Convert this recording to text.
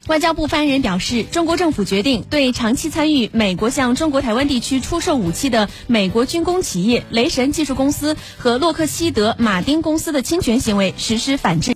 外交部发言人表示，中国政府决定对长期参与美国向中国台湾地区出售武器的美国军工企业雷神技术公司和洛克希德马丁公司的侵权行为实施反制。